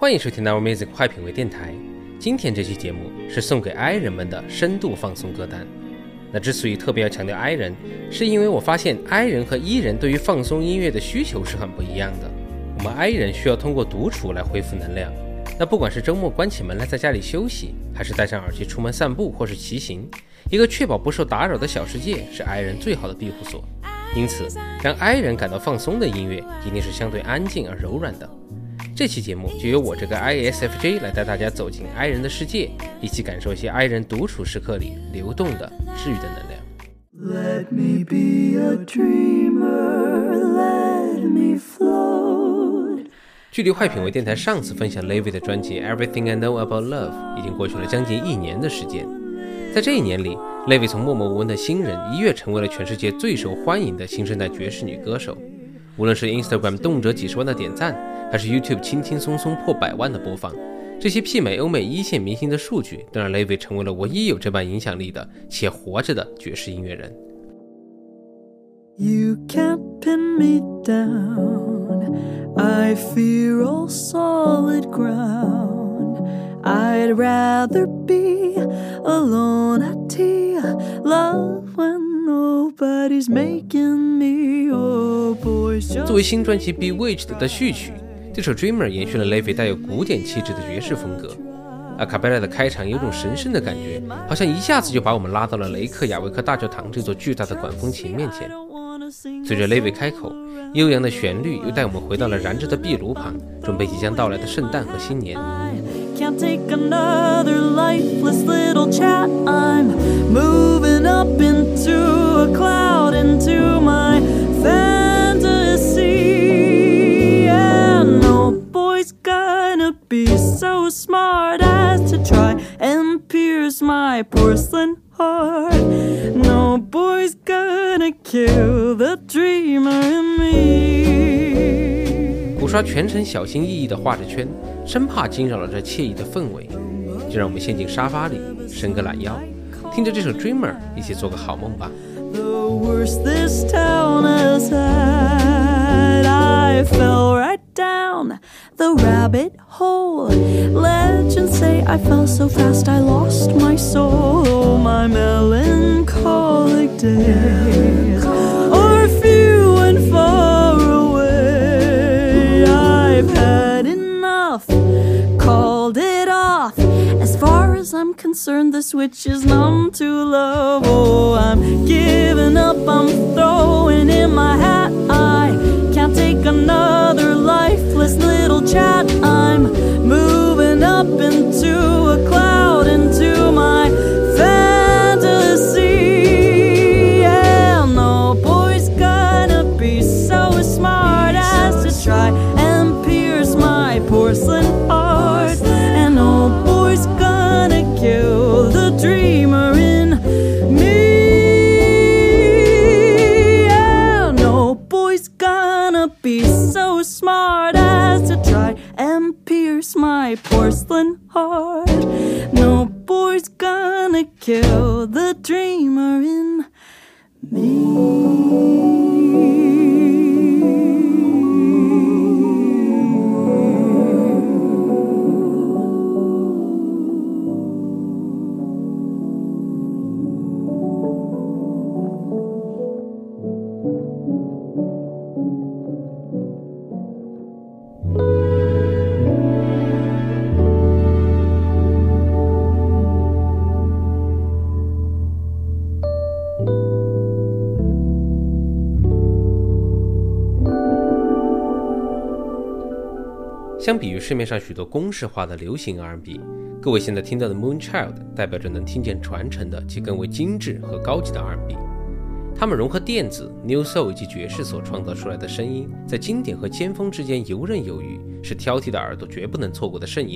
欢迎收听 Our Music 快品味电台。今天这期节目是送给 I 人们的深度放松歌单。那之所以特别要强调 I 人，是因为我发现 I 人和 E 人对于放松音乐的需求是很不一样的。我们 I 人需要通过独处来恢复能量，那不管是周末关起门来在家里休息，还是戴上耳机出门散步或是骑行，一个确保不受打扰的小世界是 I 人最好的庇护所。因此让 I 人感到放松的音乐一定是相对安静而柔软的。这期节目就由我这个 ISFJ 来带大家走进 I 人的世界，一起感受一些 I 人独处时刻里流动的治愈的能量。 Let me be a dreamer, let me float。 距离坏品味电台上次分享 Levi 的专辑 Everything I Know About Love 已经过去了将近1年的时间。在这1年里， Levi 从默默无闻的新人一跃成为了全世界最受欢迎的新生代爵士女歌手。无论是 Instagram 动辄几十万的点赞，还是 YouTube 轻轻松松破100万的播放，这些媲美欧美一线明星的数据都让 Levi 成为了唯一有这般影响力的且活着的爵士音乐人。 You can't pin me down, I fear all solid ground. I'd rather be alone at tea, love when nobody's making me, oh boys just... 作为新专辑 Bewitched 的序曲，这首 Dreamer 延续了 Levi 带有古典气质的爵士风格。阿卡贝拉的开场有种神圣的感觉，好像一下子就把我们拉到了雷克雅维克大教堂这座巨大的管风琴面前。随着 Levi 开口，悠扬的旋律又带我们回到了燃着的壁炉旁，准备即将到来的圣诞和新年。 Can't take another lifeless little chat. I'm moving up into a cloud, into my fantasy. And no boy's gonna be so smart as to try and pierce my porcelain heart. No boy's gonna kill the dreamer in me. 鼓刷全程小心翼翼地画着圈，生怕惊扰了这惬意的氛围。就让我们陷进沙发里，伸个懒腰，听着这首 Dreamer， 一起做个好梦吧。 The worst this town has had, I fell right down the rabbit hole. Legends say I fell so fast I lost my soul. My melancholic days are few and far away. I've had enough, called it off. As far as I'm concerned, the switch is numb to love. Oh, I'm giving up, I'm throwing in my hat. I can't take another lifeless little chat. I'm moving up into a cloud, into my fantasy. Yeah, no boy's gonna be so smart as to try and pierce my porcelain heart. And no boy's gonna kill the dreamer in me. Yeah, no boy's gonna be so smart as to try and pierce my porcelain heart. No boy's gonna kill the dreamer in me. 相比于市面上许多公式化的流行 R&B， 各位现在听到的 Moonchild 代表着能听见传承的且更为精致和高级的 R&B。 他们融合电子、New Soul 以及爵士所创造出来的声音，在经典和尖峰之间游刃有余，是挑剔的耳朵绝不能错过的盛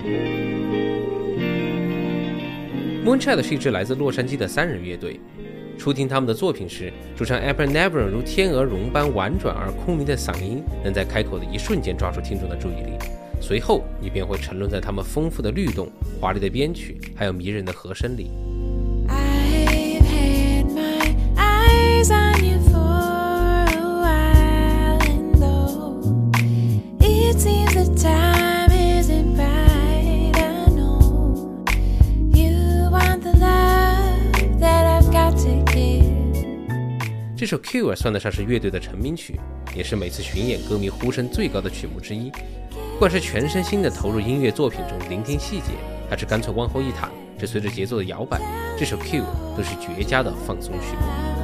宴。Moonchild 是一支来自洛杉矶的3人乐队， 初听他们的作品时，主唱 Apple Nevern 如天鹅绒般婉转而空灵的嗓音，能在开口的一瞬间抓住听众的注意力。随后，你便会沉沦在他们丰富的律动、华丽的编曲，还有迷人的和声里。这首 Cure 算得上是乐队的成名曲，也是每次巡演歌迷呼声最高的曲目之一。不管是全身心地投入音乐作品中聆听细节，还是干脆往后一躺，只随着节奏的摇摆，这首 Cure 都是绝佳的放松曲目。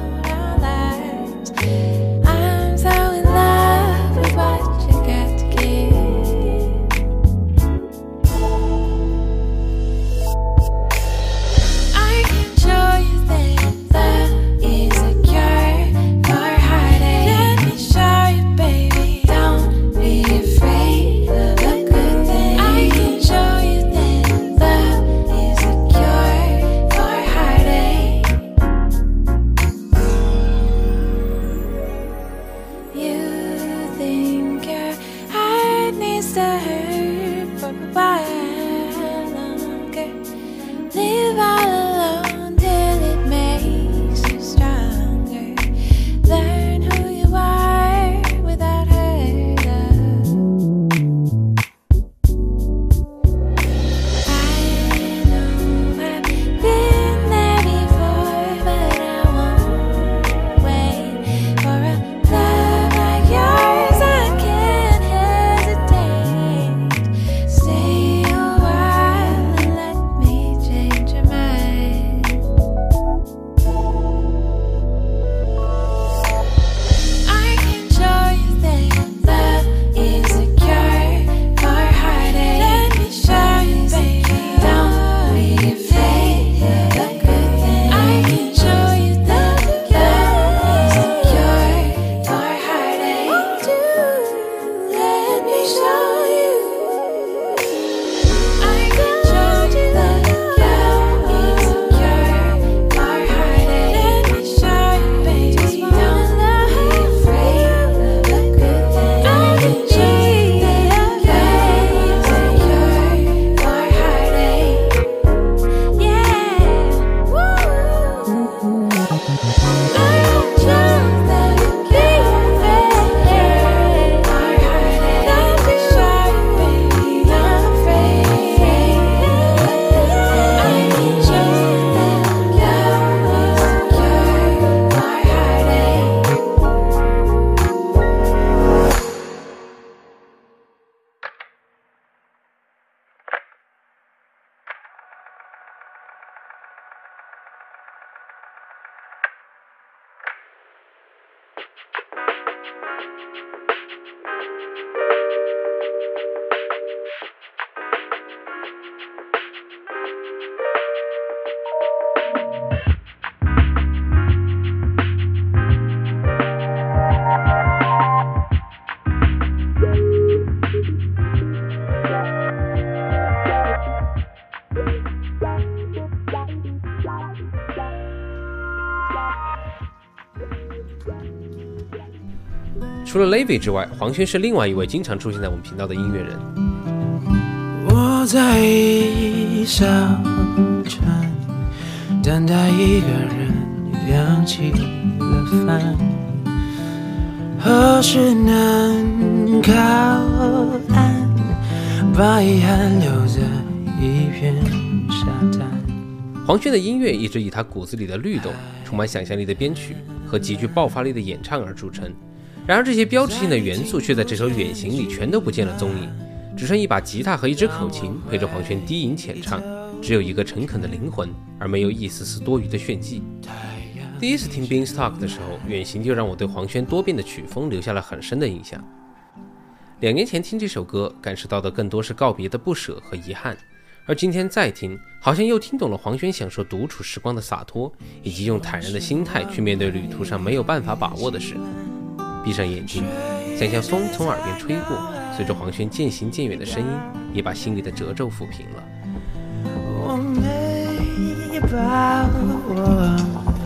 除了 Levi 之外，黄轩是另外一位经常出现在我们频道的音乐人。 我在小城等待一个人亮起了饭，何时能靠岸，把遗憾留在一片沙滩。 黄轩的音乐一直以他骨子里的律动、充满想象力的编曲和极具爆发力的演唱而著称。然而这些标志性的元素却在这首《远行》里全都不见了踪影，只剩一把吉他和一支口琴陪着黄轩低吟浅唱，只有一个诚恳的灵魂，而没有一丝丝多余的炫技。第一次听 Beanstalk 的时候，《远行》就让我对黄轩多变的曲风留下了很深的印象。2年前听这首歌，感受到的更多是告别的不舍和遗憾，而今天再听，好像又听懂了黄轩享受独处时光的洒脱，以及用坦然的心态去面对旅途上没有办法把握的事。闭上眼睛，想象风从耳边吹过，随着黄轩渐行渐远的声音，也把心里的褶皱抚平了。 我没把握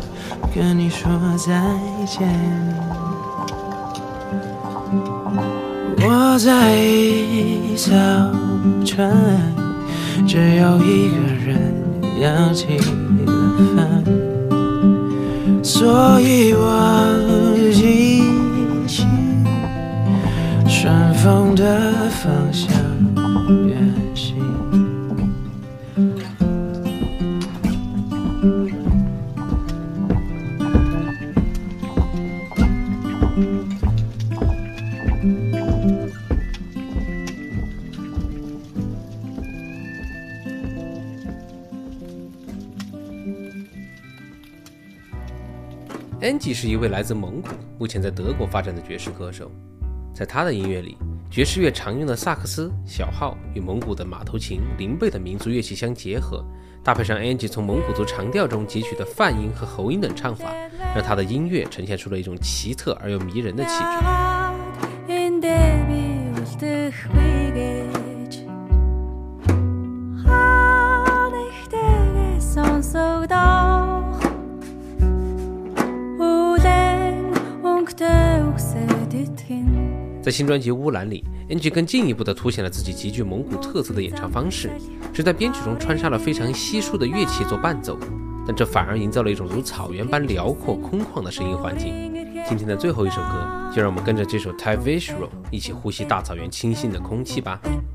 跟你说再见。我在早晨，只有一个人扬起了帆，所以我记起顺风的方向远行。 Angie 是一位来自蒙古，目前在德国发展的爵士歌手。在他的音乐里，爵士乐常用的萨克斯、小号与蒙古的马头琴、林贝等民族乐器相结合，搭配上 Angie 从蒙古族长调中汲取的泛音和喉音等唱法，让他的音乐呈现出了一种奇特而又迷人的气质。在新专辑《乌兰》里 ，Angie 更进一步地凸显了自己极具蒙古特色的演唱方式，只在编曲中穿插了非常稀疏的乐器做伴奏，但这反而营造了一种如草原般辽阔空旷的声音环境。今天的最后一首歌，就让我们跟着这首 Tai Vishro 一起呼吸大草原清新的空气吧。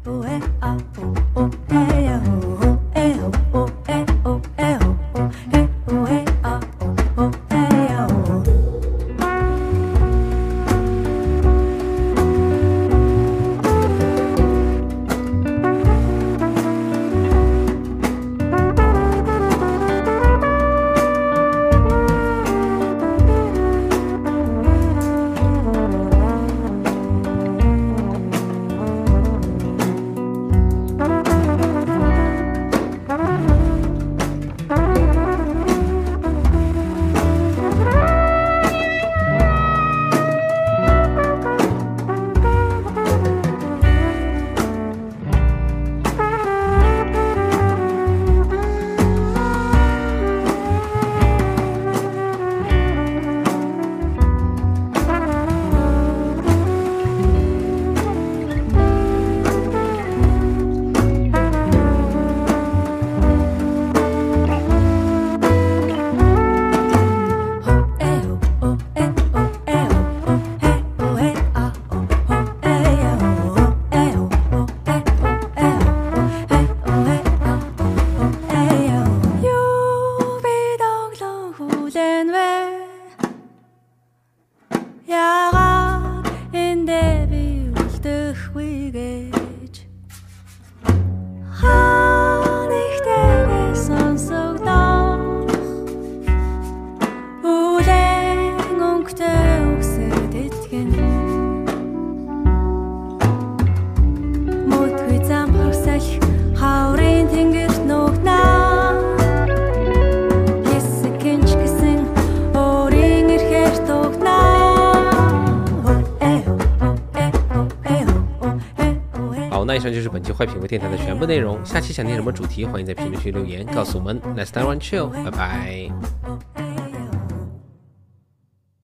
那以上就是本期坏品味电台的全部内容。下期想听什么主题，欢迎在评论区留言告诉我们。Next time on chill， 拜拜。